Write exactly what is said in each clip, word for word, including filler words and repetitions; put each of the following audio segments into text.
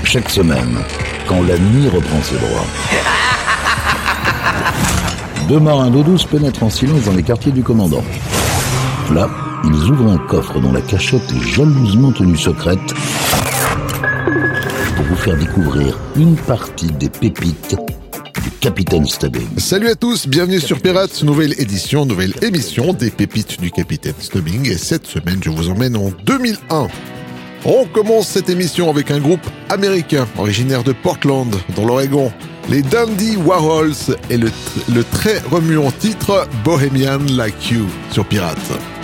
Chaque semaine, quand la nuit reprend ses droits. Deux marins d'eau douce pénètrent en silence dans les quartiers du commandant. Là, ils ouvrent un coffre dont la cachette est jalousement tenue secrète pour vous faire découvrir une partie des pépites du Capitaine Stubbing. Salut à tous, bienvenue sur Pirates, nouvelle édition, nouvelle émission des pépites du Capitaine Stubbing. Et cette semaine, je vous emmène en deux mille un. On commence cette émission avec un groupe américain originaire de Portland, dans l'Oregon. Les Dandy Warhols et le, tr- le très remuant titre Bohemian Like You sur Pirates.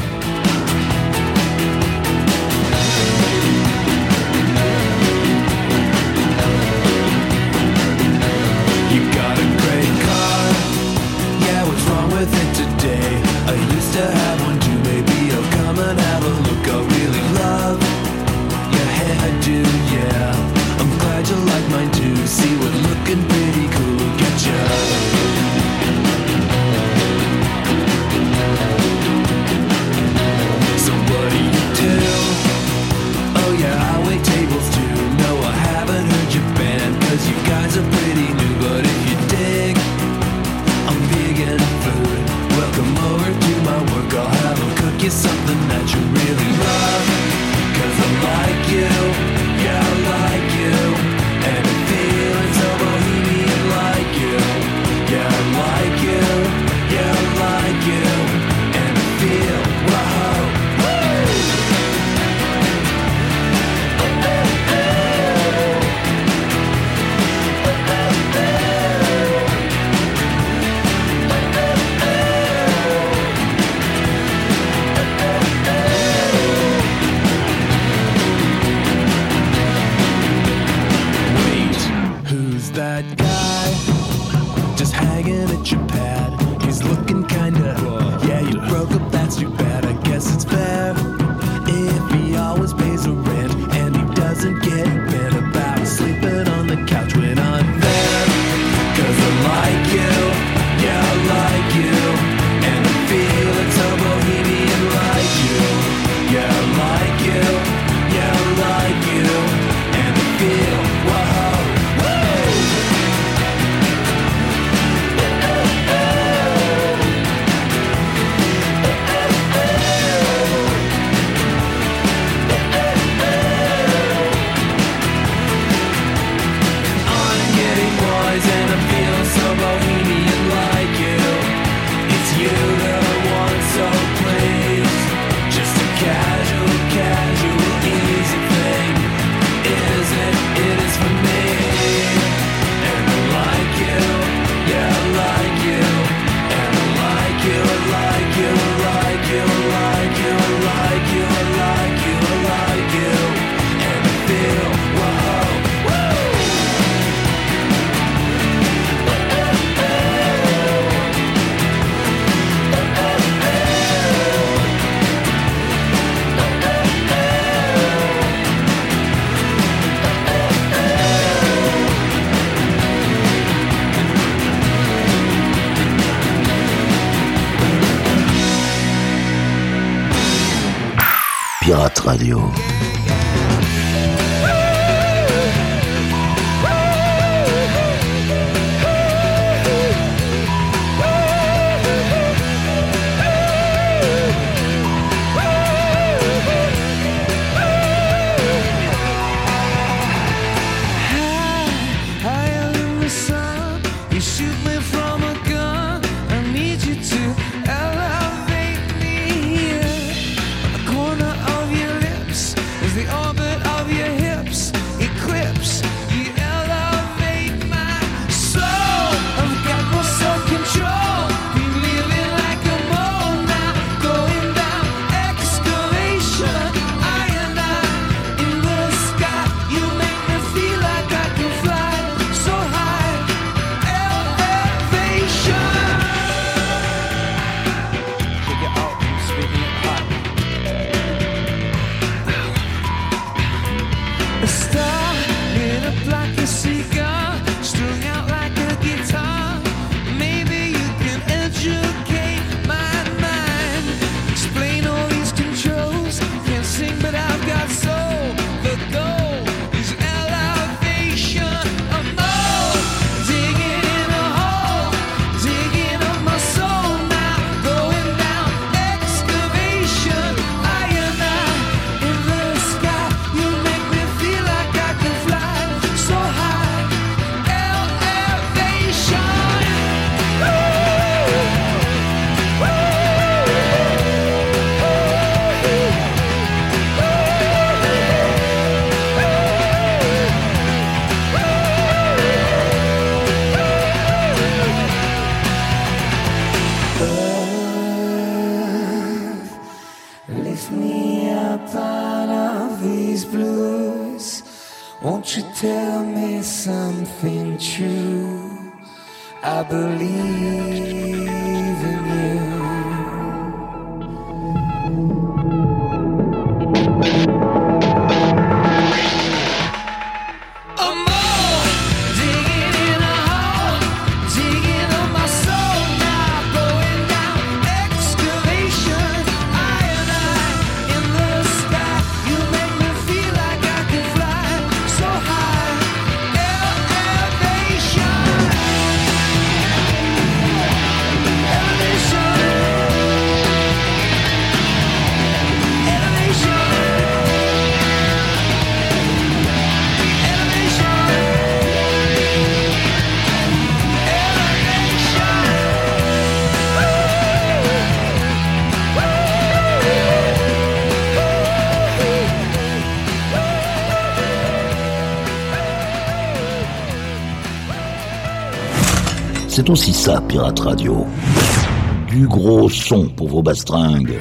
Pirate Radio. But I've got soul, the goal is elevation. Won't you tell me something true? I believe in you. C'est aussi ça, Pirate Radio. Du gros son pour vos bastringues.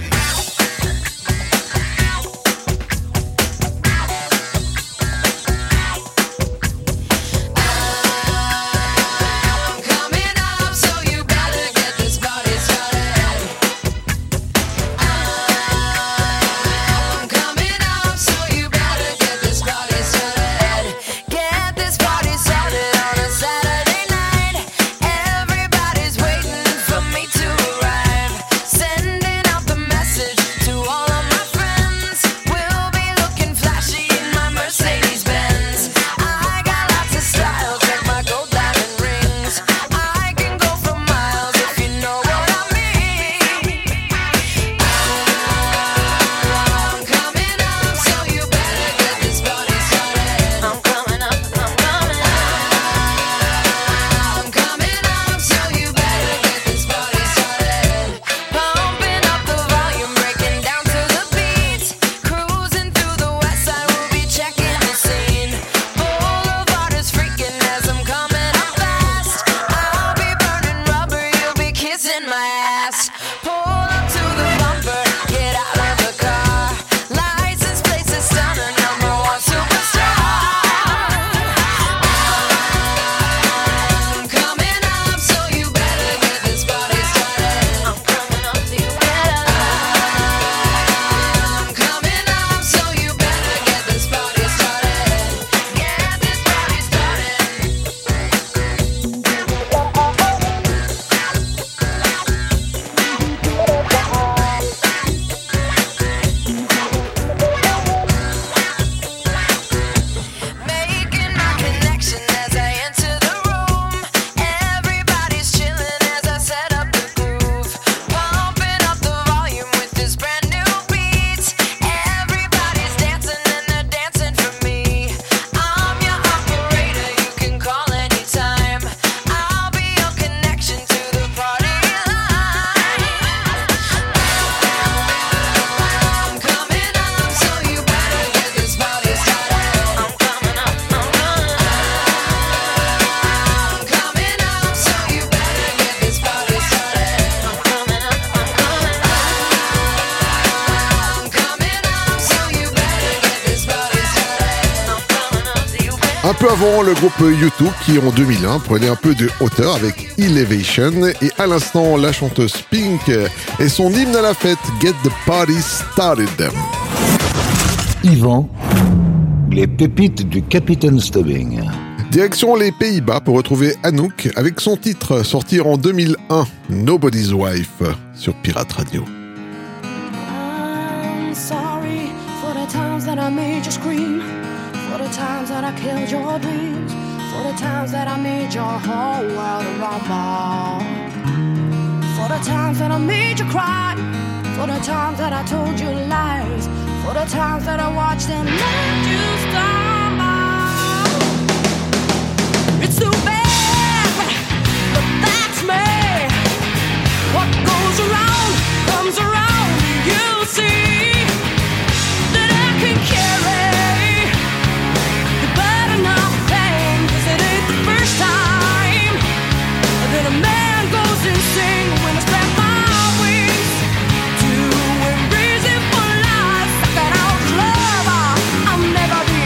Un peu avant, le groupe U deux qui en deux mille un prenait un peu de hauteur avec Elevation, et à l'instant la chanteuse Pink et son hymne à la fête Get the Party Started. Yvan, les pépites du Capitaine Stubbing. Direction les Pays-Bas pour retrouver Anouk avec son titre sorti en deux mille un, Nobody's Wife, sur Pirate Radio. I'm sorry for the times that I made you scream, for the times that I killed your dreams, for the times that I made your whole world rumble, for the times that I made you cry, for the times that I told you lies, for the times that I watched and let you stumble. It's too bad, but that's me. What goes around comes around. You'll see that I can carry the burden of pain, 'cause it ain't the first time that a man goes insane when I spread my wings to embrace it for life. That out love, I'll never be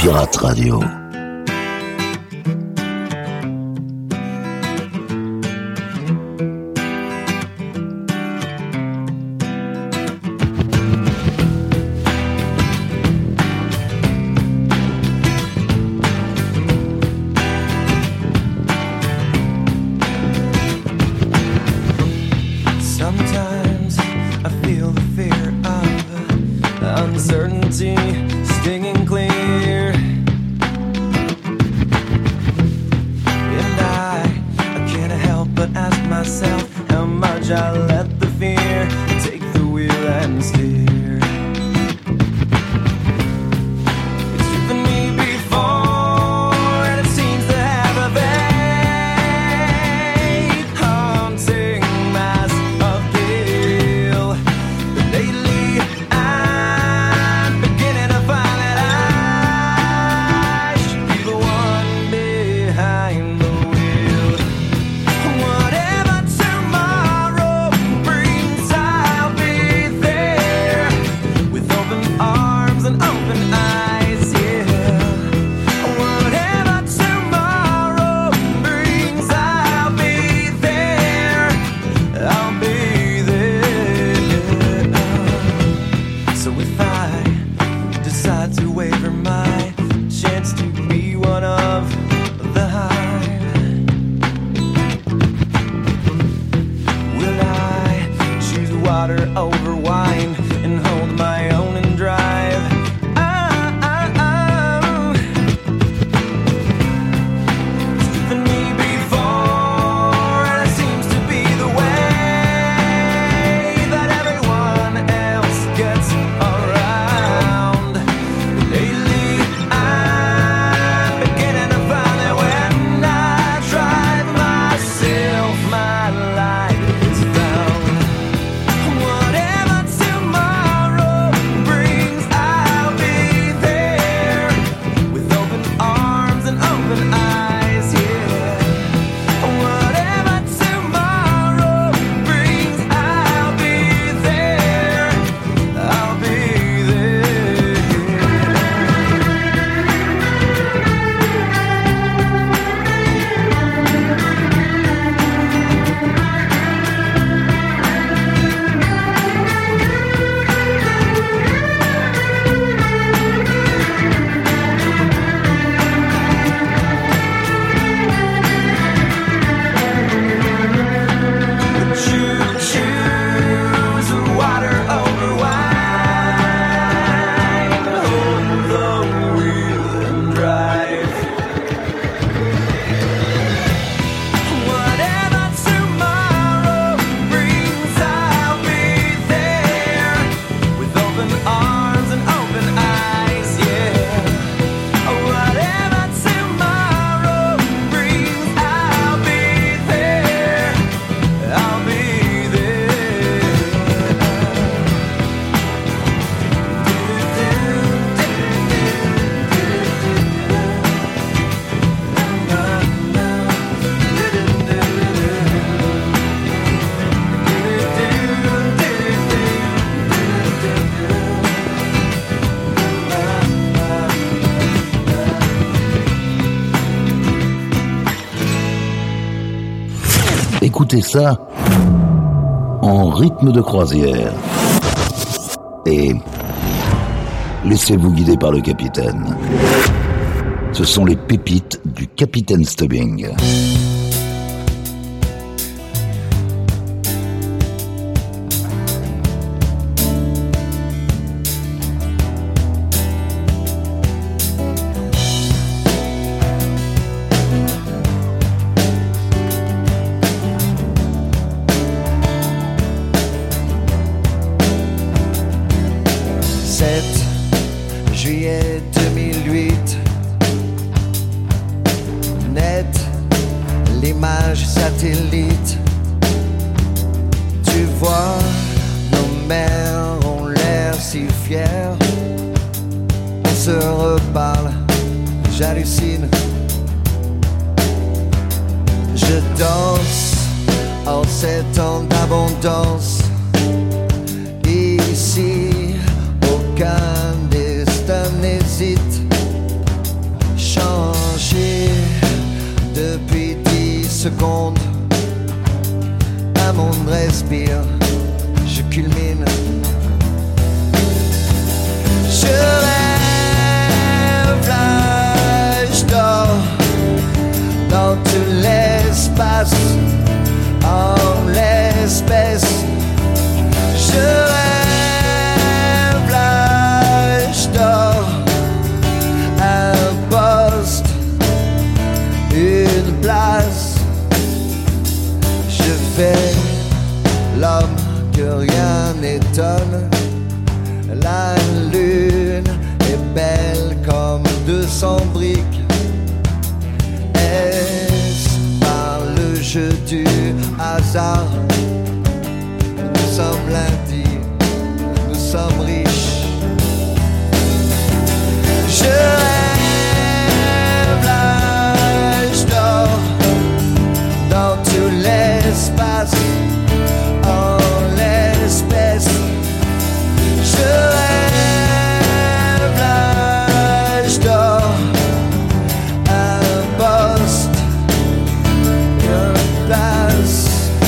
Pirate Radio. Écoutez ça en rythme de croisière. Et laissez-vous guider par le capitaine. Ce sont les pépites du Capitaine Stubbing. Juillet deux mille huit, net, l'image satellite. Tu vois, nos mères ont l'air si fiers. On se reparle, j'hallucine. Je danse en ces temps d'abondance. Ici, aucun destin n'hésite secondes, un monde respire, je culmine. Je rêve, là, je dors dans tout l'espace, en l'espèce. Je rêve, là, je dors, un poste, une place. Je fais l'homme que rien n'étonne. La lune est belle comme deux cents briques. Est-ce par le jeu du hasard? Nous sommes lundi, nous sommes riches. Je rêve, là, je dors dans tout l'espace, en l'espèce. Je rêve, là, je dors, un poste, une place.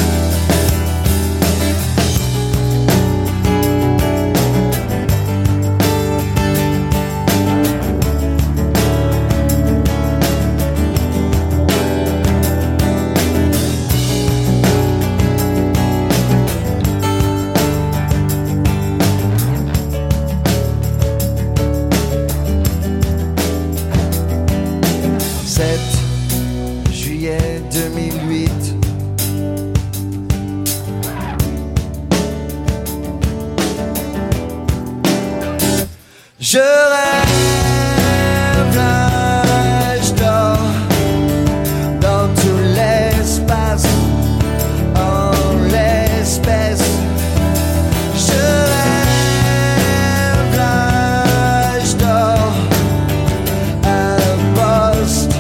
sept juillet deux mille huit. Je rêve, là, je dors dans tout l'espace, en l'espèce. Je rêve, là, je dors, un poste,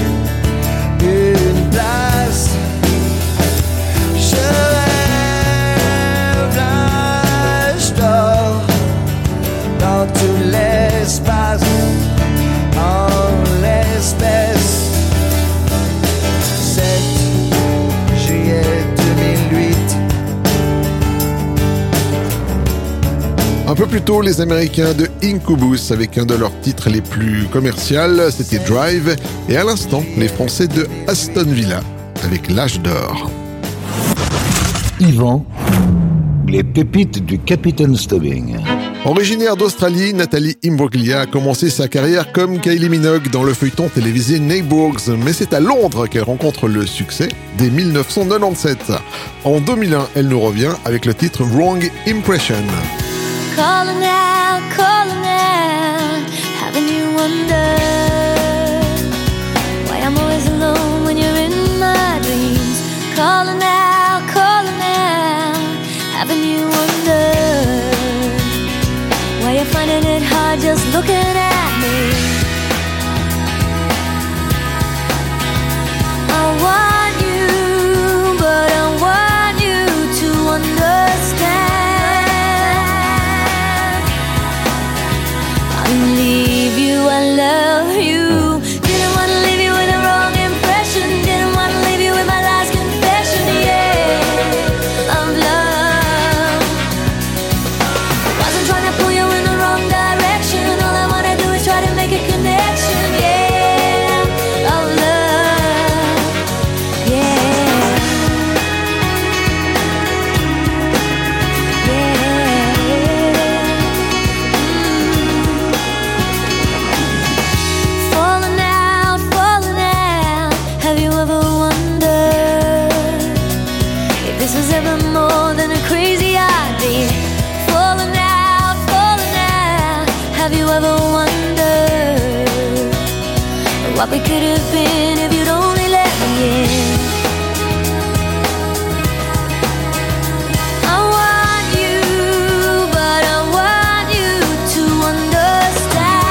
une place. Je rêve, là, je dors dans tout l'espace, en l'espèce. sept juillet deux mille huit. Un peu plus tôt, les Américains de Incubus avec un de leurs titres les plus commerciaux, c'était Drive. Et à l'instant, les Français de Aston Villa avec L'Âge d'Or. Yvan, les pépites du Capitaine Stubbing. Originaire d'Australie, Nathalie Imbruglia a commencé sa carrière comme Kylie Minogue dans le feuilleton télévisé Neighbours, mais c'est à Londres qu'elle rencontre le succès dès dix-neuf cent quatre-vingt-dix-sept. En deux mille un, elle nous revient avec le titre Wrong Impression. Calling out, calling out, having you wonder why I'm always alone when you're in my dreams. Calling out, calling out, having you wonder why you're finding it hard just looking at me. I want you, but I want you to understand. I leave you, I love you. Didn't want to leave you with a wrong impression. Didn't want to leave you with my last confession, yeah, of love. Wasn't trying to pull you in the wrong direction. All I wanna do is try to make a connection, yeah, of love, yeah, yeah. Falling out, falling out. Have you ever wondered if this was ever more than a crazy idea? Falling out, falling out. Have you ever wondered what we could have been if you'd only let me in? I want you, but I want you to understand.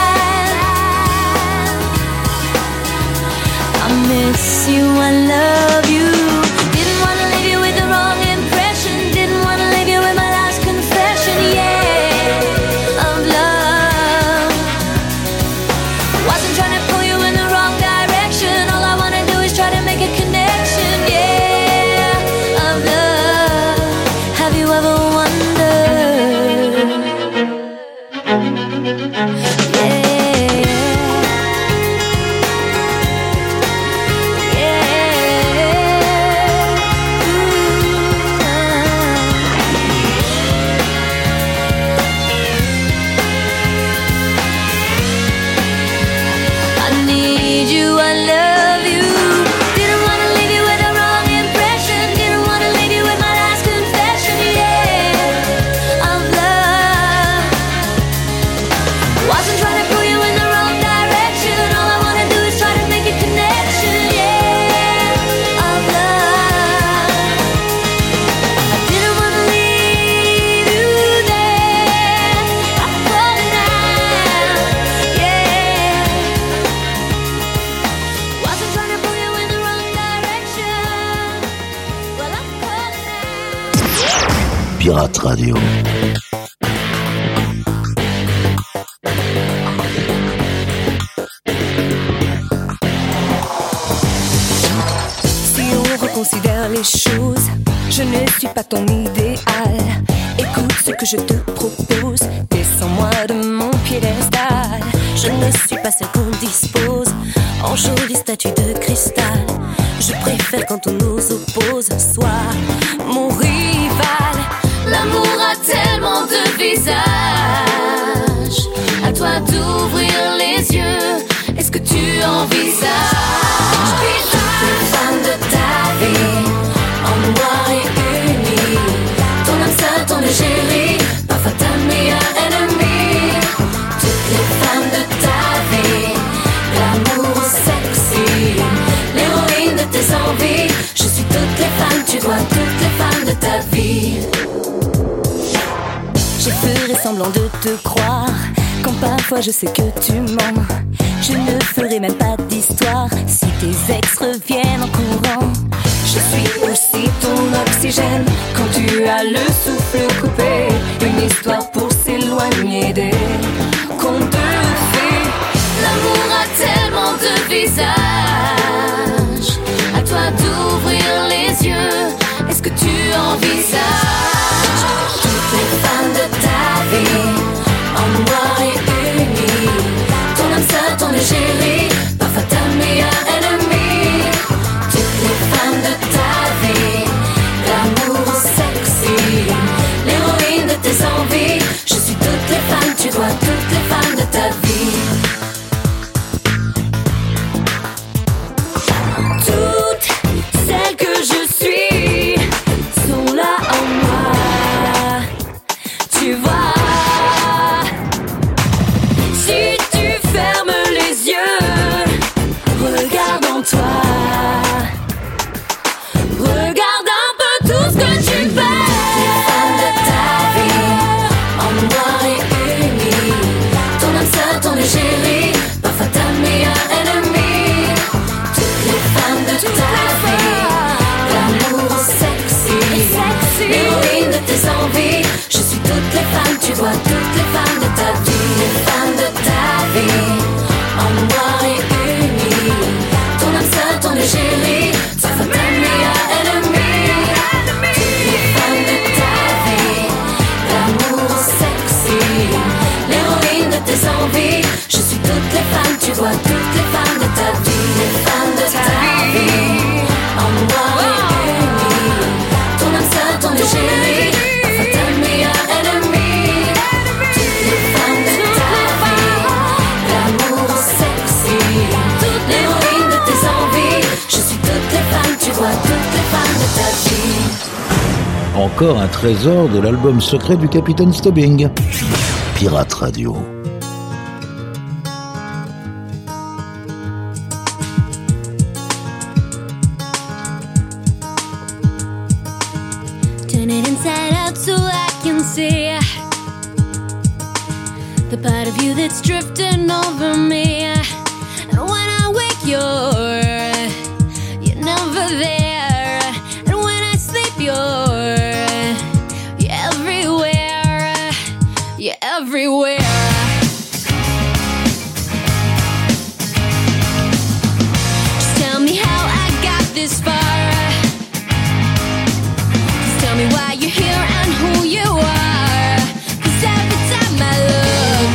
I miss you, I love you. Didn't want to leave you with the wrong impression. Didn't want to leave you with my last confession, yeah, of love. Wasn't trying to pull you in the wrong direction. All I want to do is try to make a connection. Pirate Radio. Si on reconsidère les choses, je ne suis pas ton idéal. Écoute ce que je te propose, descends-moi de mon piédestal. Je ne suis pas celle qu'on dispose en jolie statue de cristal. Je préfère quand on nous oppose, sois mon rival. L'amour a tellement de visages. À toi d'ouvrir les yeux. Est-ce que tu envisages toutes les femmes de ta vie en noir et uni? Ton âme seule, ton égérie, parfois ta meilleure ennemie. Toutes les femmes de ta vie, l'amour sexy, l'héroïne de tes envies. Je suis toutes les femmes, tu dois toutes les femmes de ta vie. Je ferai semblant de te croire quand parfois je sais que tu mens. Je ne ferai même pas d'histoire si tes ex reviennent en courant. Je suis aussi ton oxygène quand tu as le souffle coupé. Une histoire pour s'éloigner des contes de fées. L'amour a tellement de visages. À toi d'ouvrir les yeux. Est-ce que tu envisages toutes les femmes de ta vie en noir et uni? Ton âme seule, ton égérie, parfois ta meilleure ennemie. Toutes les femmes de ta vie, l'amour sexy, l'héroïne de tes envies. Je suis toutes les femmes, tu dois toutes les femmes de ta vie. Toutes celles que je suis sont là en moi. Tu vois, si tu fermes les yeux, regarde en toi. Regarde un peu tout ce que tu fais. Les femmes de ta vie, en noir et uni. Ton âme seule, ton égérie, parfois ta meilleure ennemie. Toutes les femmes de ta vie, l'amour sexy, l'héroïne de tes envies. Je suis toutes les femmes, tu vois toutes les femmes de ta vie. Les femmes de ta vie, en noir et uni. Ton âme seule, ton égérie, parfois ta meilleure ennemie. Toutes les femmes de ta vie, l'amour sexy, l'héroïne de tes envies. Je suis toutes les femmes, tu vois toutes les femmes de ta vie. Les femmes de ta vie, en noir et uni. Ton âme seule, ton égérie, parfois ta meilleure ennemie. Toutes les femmes de ta vie, l'amour sexy, l'héroïne de tes envies. Je suis toutes les femmes, tu vois toutes les femmes de ta vie. Encore un trésor de l'album secret du Capitaine Stubbing. Pirate Radio. Turn it inside out so I can see the part of you that's drifting over me. And when I wake, you're you're never there. And when I sleep, you're you're everywhere. You're everywhere. Just tell me how I got this far. Tell me why you're here and who you are. 'Cause every time I look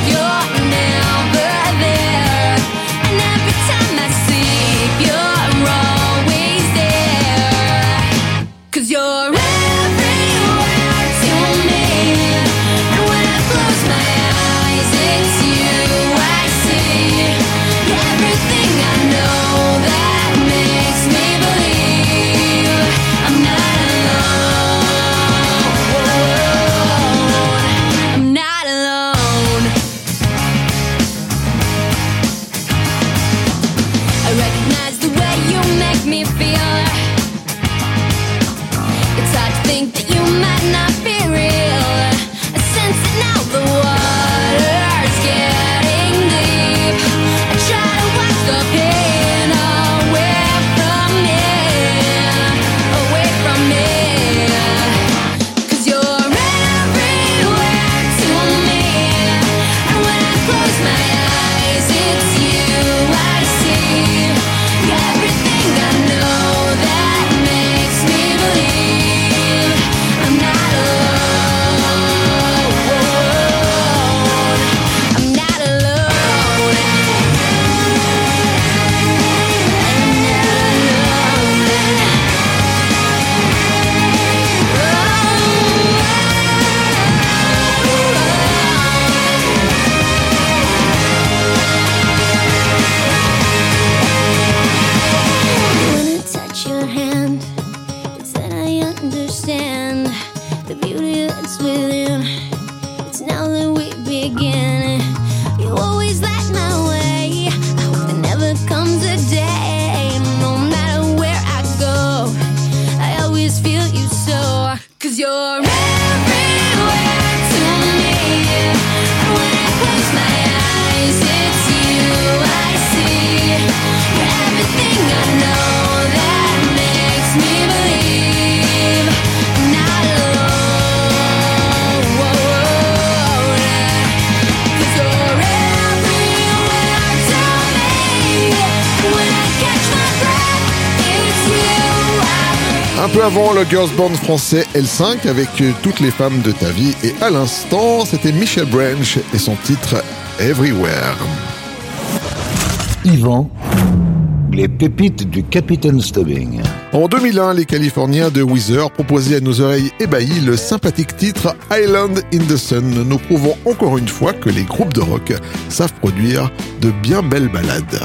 Un peu avant, le girls band français L cinq avec Toutes les femmes de ta vie. Et à l'instant, c'était Michel Branch et son titre Everywhere. Yvan, les pépites du Capitaine Stubbing. En deux mille un, les Californiens de Weezer proposaient à nos oreilles ébahies le sympathique titre Island in the Sun, nous prouvant encore une fois que les groupes de rock savent produire de bien belles ballades.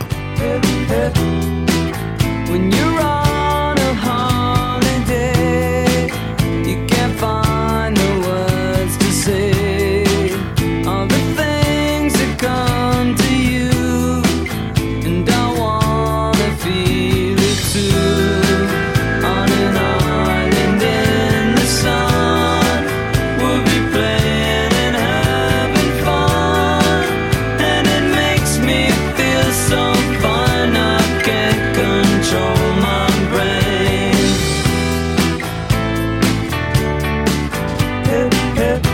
When you're on a holiday, you can't find the words to say all the things that come to you, and I wanna feel it too. On an island in the sun, we'll be playing and having fun, and it makes me feel so fine I can't control my brain. Hip, hip.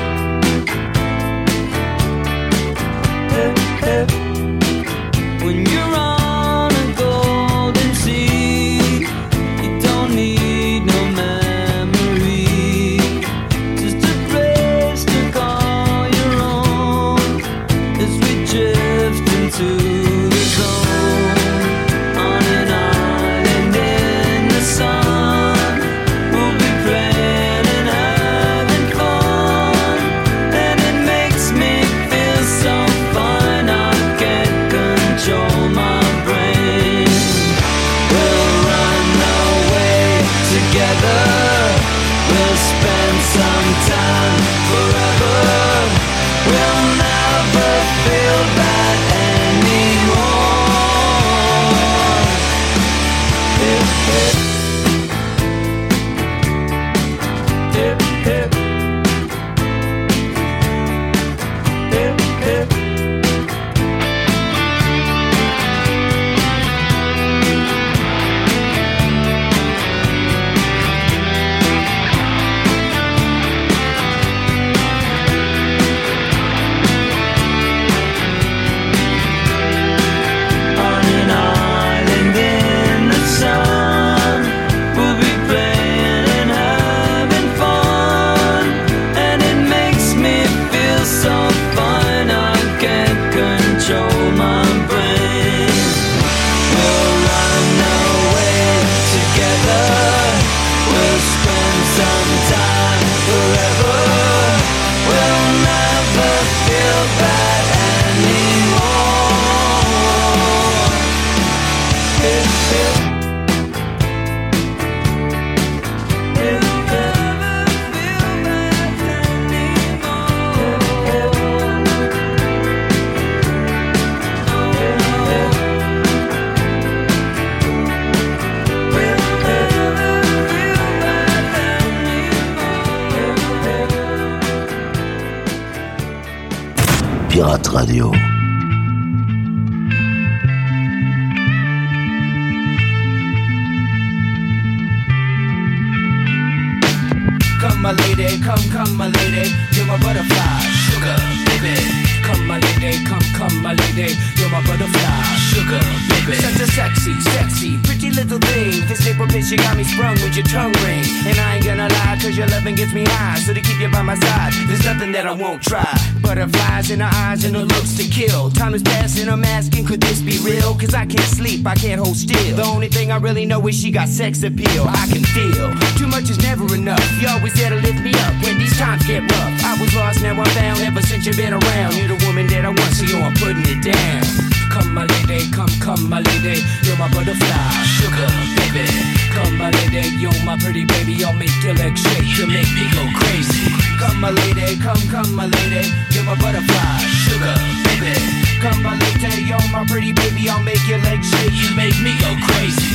Hip, hip. When you're on a golden sea, you don't need no memory, just a place to call your own as we drift into the zone. On an island in the sun, we'll be playing and having fun, and it makes me feel so fine I can't control my brain. We'll run away together, we'll spend some time forever, we'll never feel bad anymore. Hip, hip. Hip, hip. Hip, hip. On an island in the sun, we'll be playing and having fun, and it makes me feel so fine I can't control my brain. We'll run away together, we'll spend some time forever, we'll never feel bad anymore. Hip, hip. Hip, hip. Pirate Radio. Come my lady, come, come my lady, you're my butterfly, sugar, baby. Come my lady, come, come my lady, you're my butterfly, sugar, baby. Such a sexy, sexy, pretty little thing. This April bitch, you got me sprung with your tongue ring. And I ain't gonna lie, cause your loving gets me high. So to keep you by my side, there's nothing that I won't try. Butterflies in her eyes and her looks to kill. Time is passing, I'm asking, could this be real? Cause I can't sleep, I can't hold still. The only thing I really know is she got sex appeal. I can feel, too much is never enough. You always there to lift me up when these times get rough. I was lost, now I'm found, ever since you've been around. You're the woman that I want, so yo, I'm putting it down. Come my lady, come, come my lady, you're my butterfly, sugar, baby. Come my lady, you're my pretty baby, I'll make your legs shake, you make me go crazy. Come my lady, come, come my lady, you're my butterfly, sugar, baby. Come my lady, you're my pretty baby, I'll make your legs shake, you make me go crazy.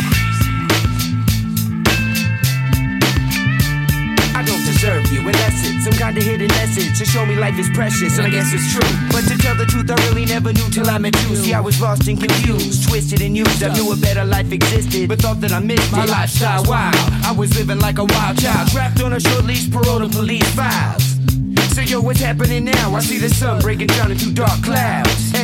I don't deserve you unless it's some kind of hidden message to show me life is precious, and I guess it's true. But to tell the truth, I really never knew till I met you. See, I was lost and confused, twisted and used. I knew a better life existed, but thought that I missed it. My lifestyle wild, I was living like a wild child, trapped on a short leash, parole to police files. So yo, what's happening now? I see the sun breaking down into dark clouds, and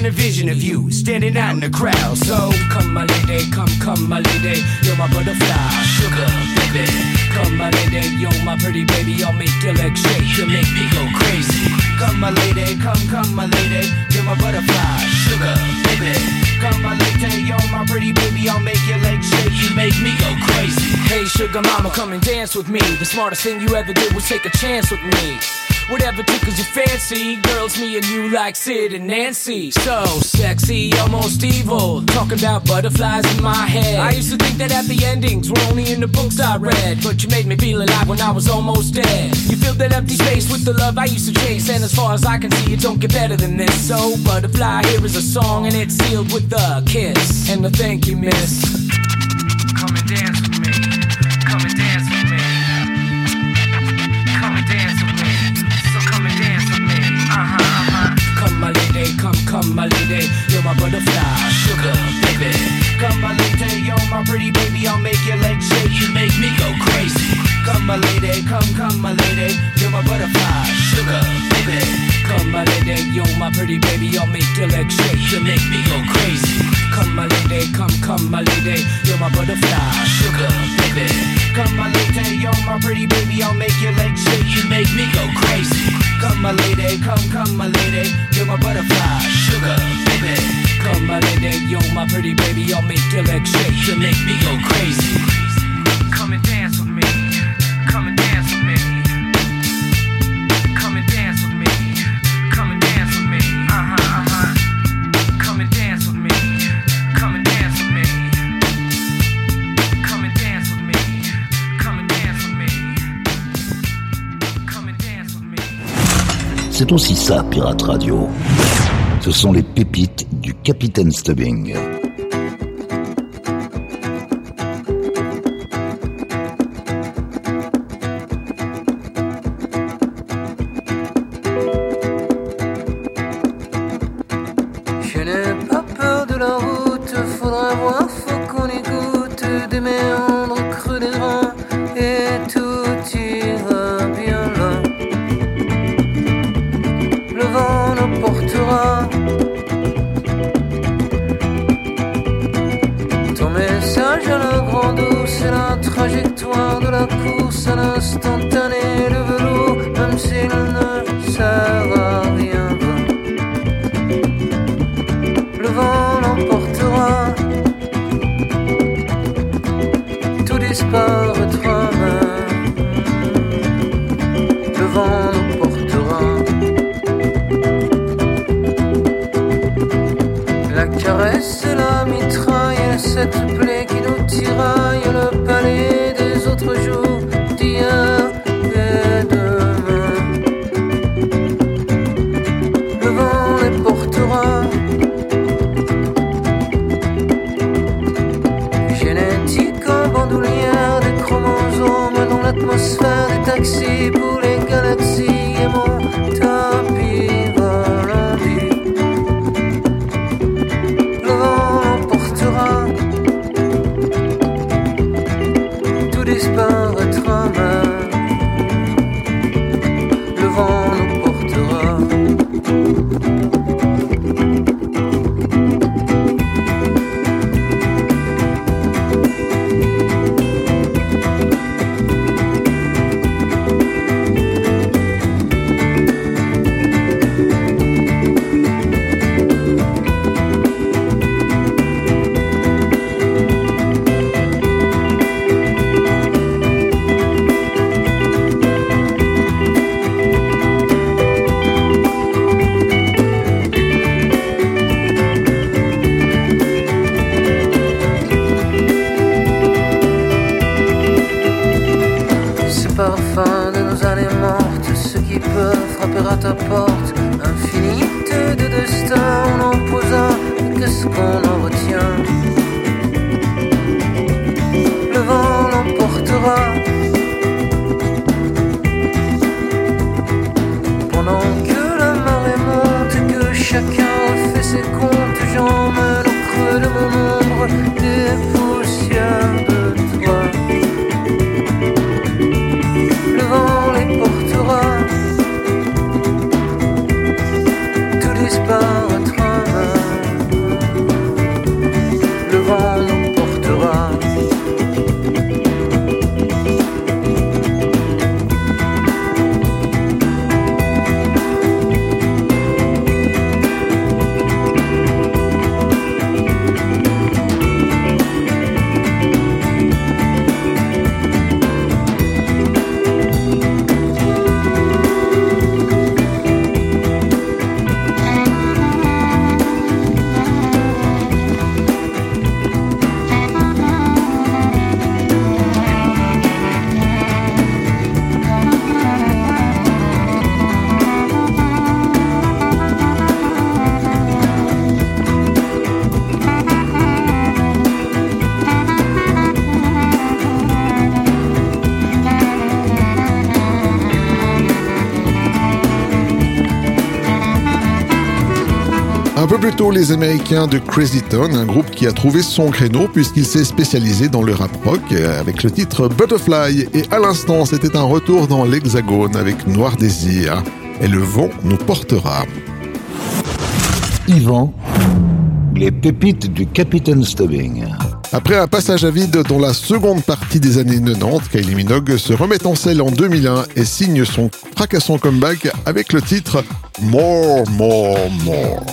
can't envision of you standing out in the crowd. So come my lady, come, come my lady, you're my butterfly, sugar baby. Come my lady, you're my pretty baby, I'll make your legs shake, you make me go crazy. Come my lady, come, come my lady, you're my butterfly, sugar baby. Come my lady, you're my pretty baby, I'll make your legs shake, you make me go crazy. Hey sugar mama, come and dance with me. The smartest thing you ever did was take a chance with me. Whatever tickles your fancy, girls, me and you like Sid and Nancy. So sexy, almost evil, talking about butterflies in my head. I used to think that happy endings were only in the books I read, but you made me feel alive when I was almost dead. You filled that empty space with the love I used to chase, and as far as I can see, it don't get better than this. So butterfly, here is a song, and it's sealed with a kiss and a thank you, miss. Come and dance with me, come and dance with me, come and dance with me. Uh-huh, uh-huh. Come my lady, come, come my lady, you're my butterfly, sugar baby. Come my lady, you're my pretty baby, I'll make your legs shake, you make me go crazy. Come my lady, come, come my lady, you're my butterfly, sugar baby. Come my lady, you're my pretty baby, I'll make your legs shake, you make me go crazy. Come my lady, come, come my lady, you're my butterfly, sugar baby. Come my lady, you're my pretty baby, I'll make your legs shake, you make me go crazy. Come my lady, come, come my lady, you're my butterfly, sugar baby. Come my lady, you're my pretty baby, I'll make your legs shake, you make me go crazy. Come and dance with me, come and dance with me. Come and dance with me, come and dance with me. Uh-huh, uh-huh. Come and dance with me, come and dance with me. Come and dance with me, come and dance with me. Come and dance with me. C'est aussi ça, Pirate Radio. Ce sont les pépites du Capitaine Stubbing. Je n'ai pas peur de la route, faudra voir, faut qu'on y goûte des méandres creux des reins et tout ira bien là. Le vent nous portera. Ton message à la grande eau, c'est la trajectoire de la course à l'instantané. Le velours, même s'il ne sert à rien, le vent l'emportera. Tout disparaîtra même. Le vent l'emportera. La caresse et la mitraille, et cette plaie qui nous tiraille, le palais des autres jours, d'hier et demain. Le vent les portera. Génétique en bandoulière, des chromosomes dans l'atmosphère, des taxis pour les galaxies et mon tapis volant. Le vent l'emportera. Un peu plus tôt, les Américains de Crazy Town, un groupe qui a trouvé son créneau puisqu'il s'est spécialisé dans le rap rock avec le titre Butterfly. Et à l'instant, c'était un retour dans l'Hexagone avec Noir Désir. Et le vent nous portera. Yvan, les pépites du Capitaine Stubbing. Après un passage à vide dans la seconde partie des années quatre-vingt-dix, Kylie Minogue se remet en selle en deux mille un et signe son fracassant comeback avec le titre More, More, More.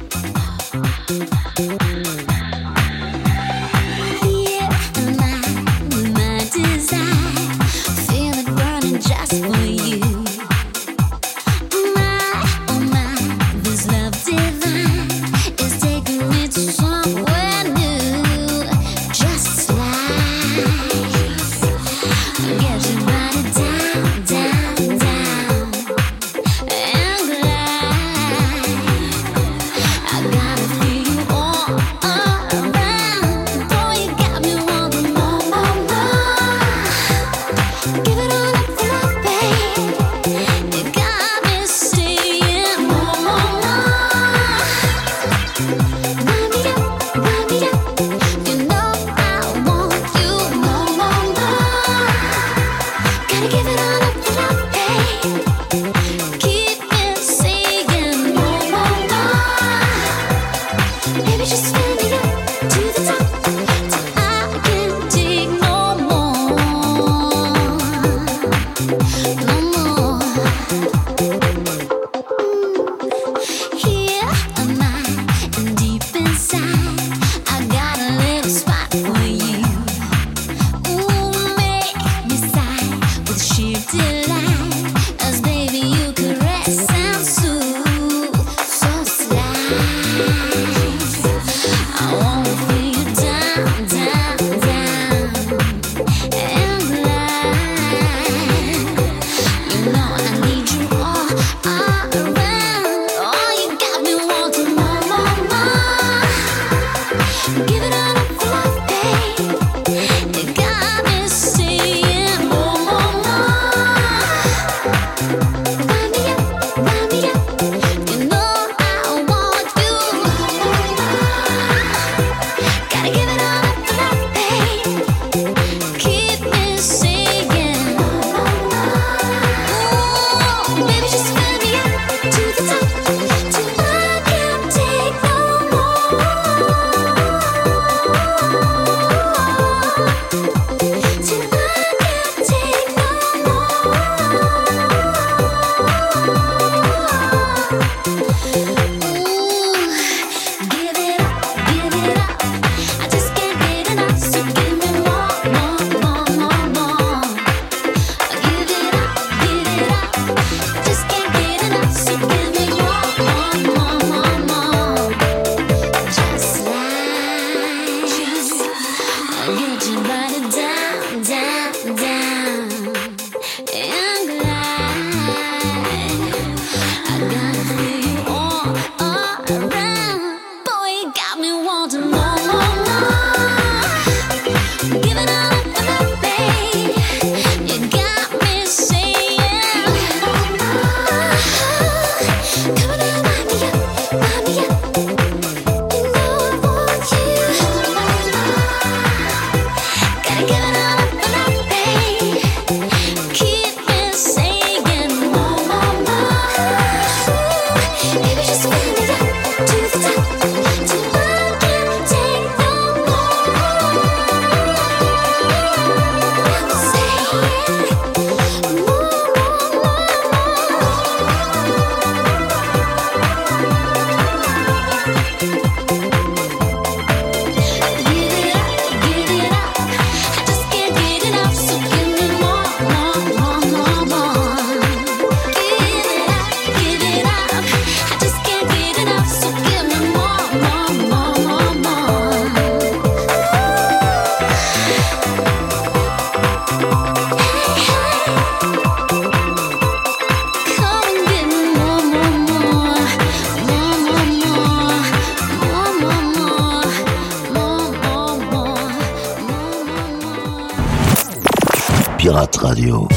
Pirate Radio.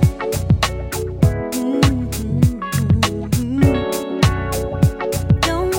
Don't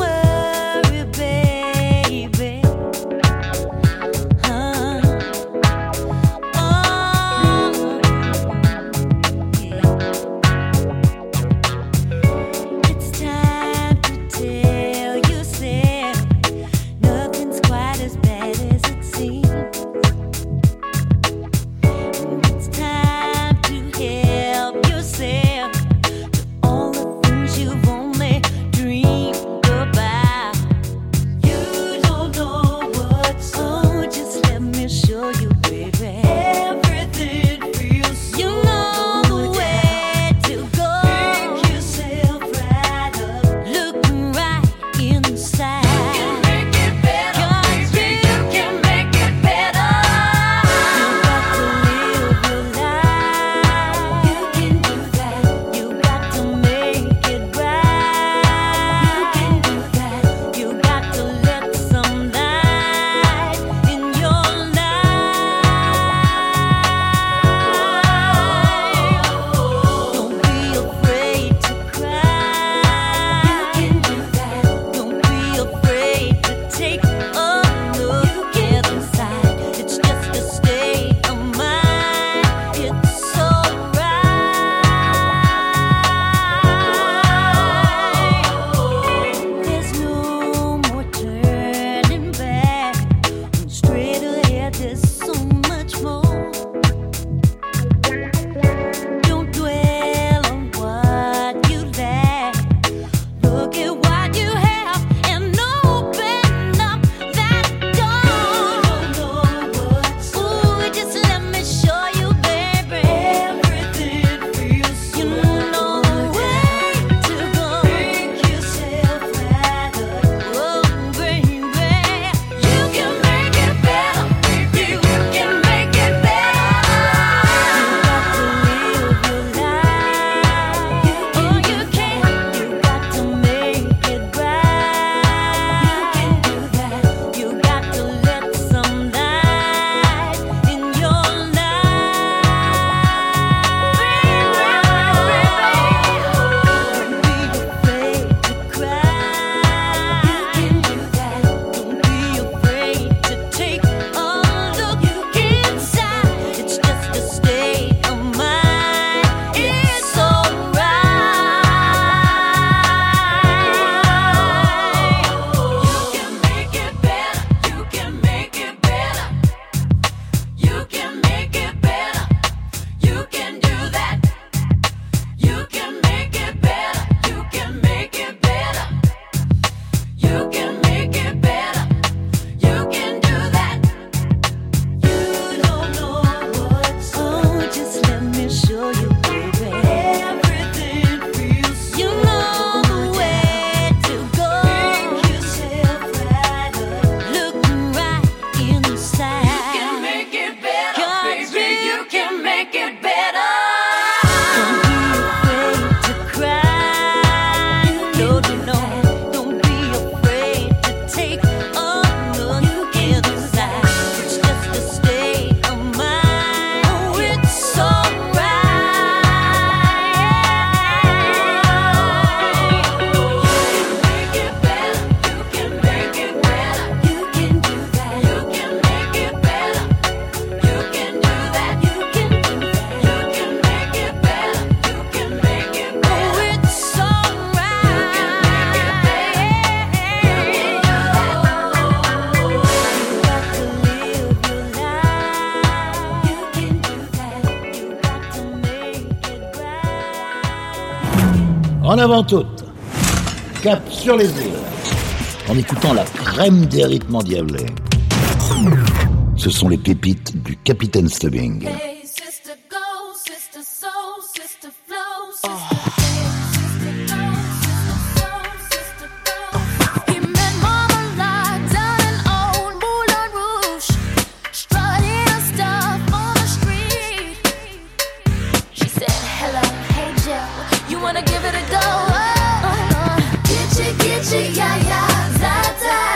avant toutes, cap sur les îles, en écoutant la crème des rythmes endiablés. Ce sont les pépites du Capitaine Stubbing. Hey, sister, go, sister, soul, sister, flow, sister, sister, go, sister, soul, sister, go. He met Mama Lot down in old Moulin Rouge, strutting her stuff on the street. She said, hello, hey Joe, you wanna give it a go? Oh, uh, get you, get you, yeah, yeah, that, that.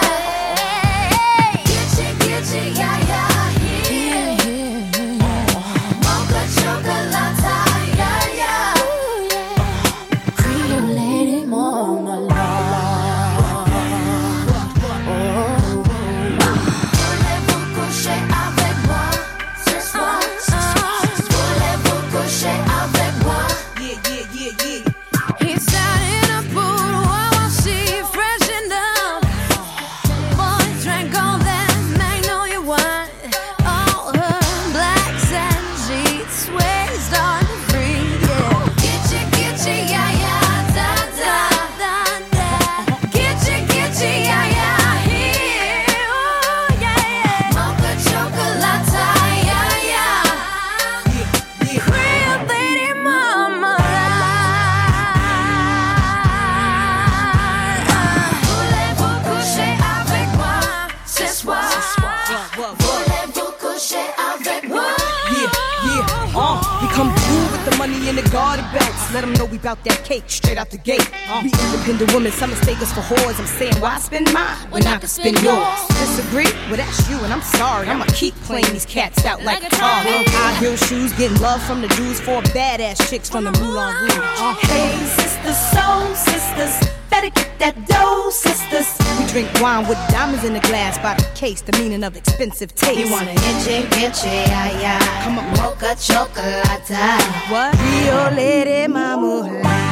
Let them know we bout that cake straight out the gate. We independent women, some mistake us for whores. I'm saying, why spend mine when I can spend yours? Disagree? Well, that's you, and I'm sorry. I'ma keep playing these cats out like guitar. High heel shoes, getting love from the dudes, four badass chicks from the Moulin Rouge. Uh, hey, sisters, soul sisters, better get that dough, sisters. We drink wine with diamonds in the glass by the case, the meaning of expensive taste. You wanna inche, inche, ay, ay. Come on, mocha chocolate. What? Rio Lady Mama.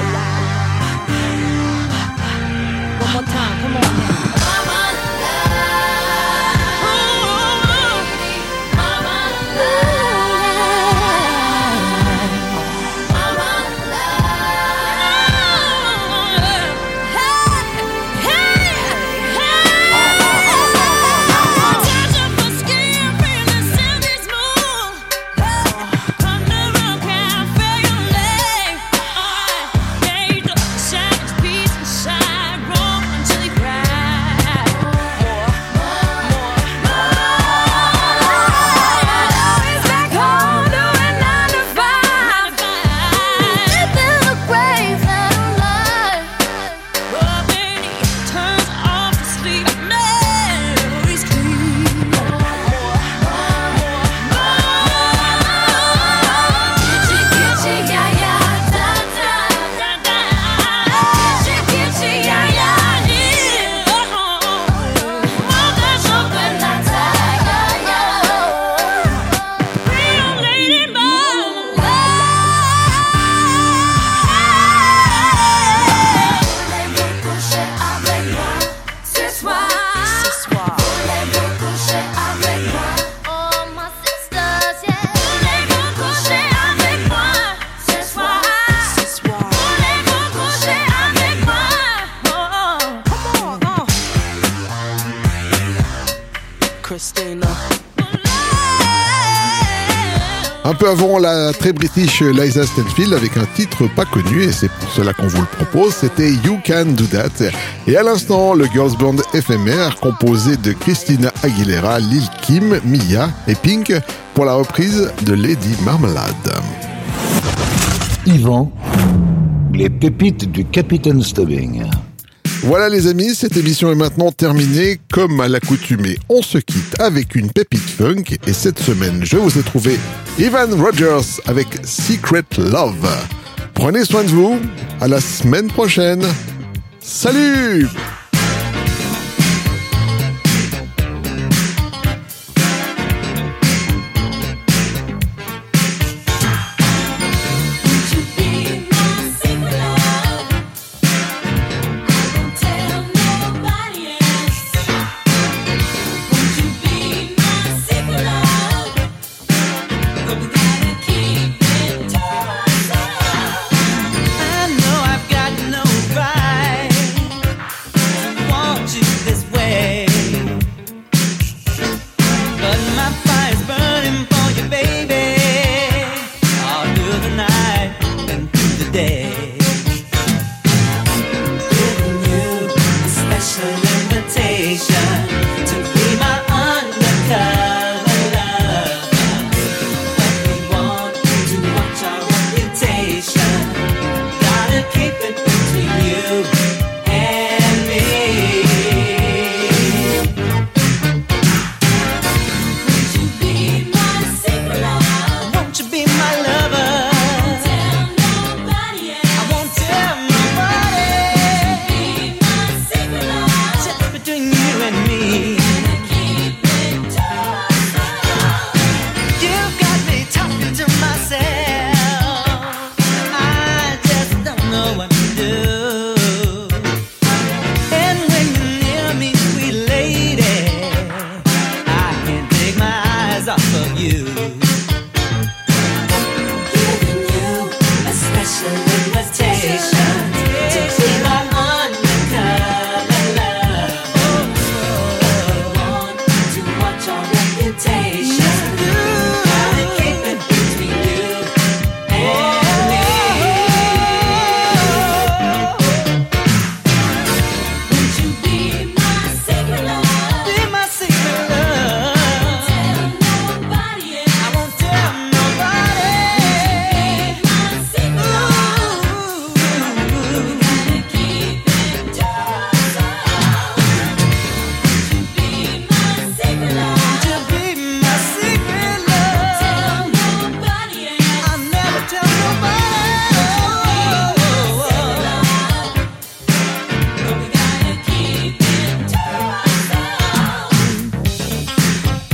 One more time, come on now. Un peu avant, la très british Liza Stanfield avec un titre pas connu, et c'est pour cela qu'on vous le propose, c'était You Can Do That. Et à l'instant, le girls band éphémère composé de Christina Aguilera, Lil Kim, Mia et Pink pour la reprise de Lady Marmalade. Yvan, les pépites du Capitaine Stubbing. Voilà les amis, cette émission est maintenant terminée. Comme à l'accoutumée, on se quitte avec une pépite funk. Et cette semaine, je vous ai trouvé Evan Rogers avec Secret Love. Prenez soin de vous, à la semaine prochaine. Salut! I know I've got no invitation to be my undercover love. But we want to watch our reputation. Gotta keep it between you and me. Would you be my secret lover? Won't you be my lover? Tell nobody else. I won't tell nobody. Would you be my secret lover? Just between you and me. Keep it to ourselves. You've got me talking to myself. I just don't know what to do. And when you're near me, sweet lady, I can't take my eyes off of you. Giving you a special invitation to be my undercover love. We want to watch our reputation. Gotta keep it between you and me. Would you be my secret love? Be my secret love. Tell nobody else. I won't tell nobody. Be my secret love. We gotta keep it to ourselves. Would you be my secret love? Would you be my secret love? Tell nobody else. I'll never tell nobody. But we gotta keep it to ourselves.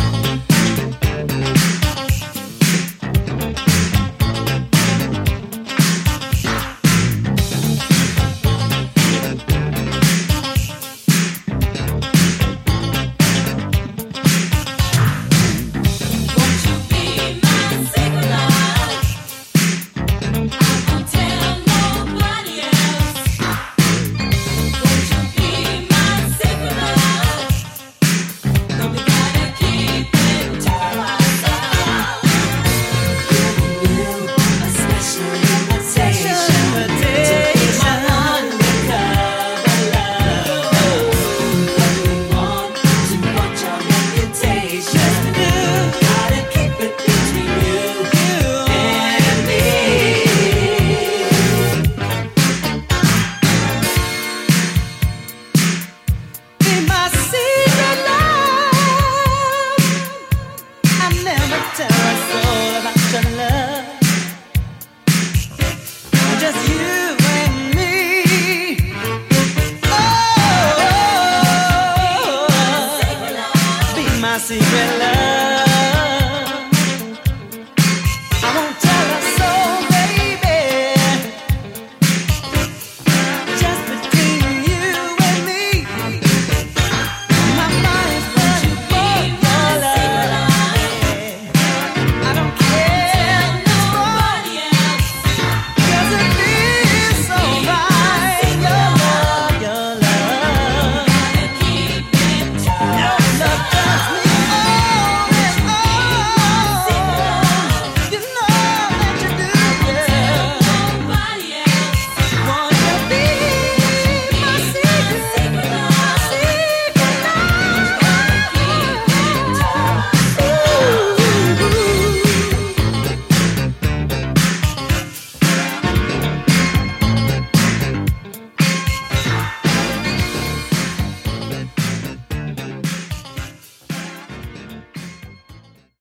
Won't you be my secret love? I won't tell nobody else. Won't you be my secret love? But we gotta keep it to ourselves. Giving you a special invitation to be my undercover love. But we want to watch our reputation. Gotta keep it between you and me. Be my secret love. I never tell a soul about your love. Just you and me. Oh, be my secret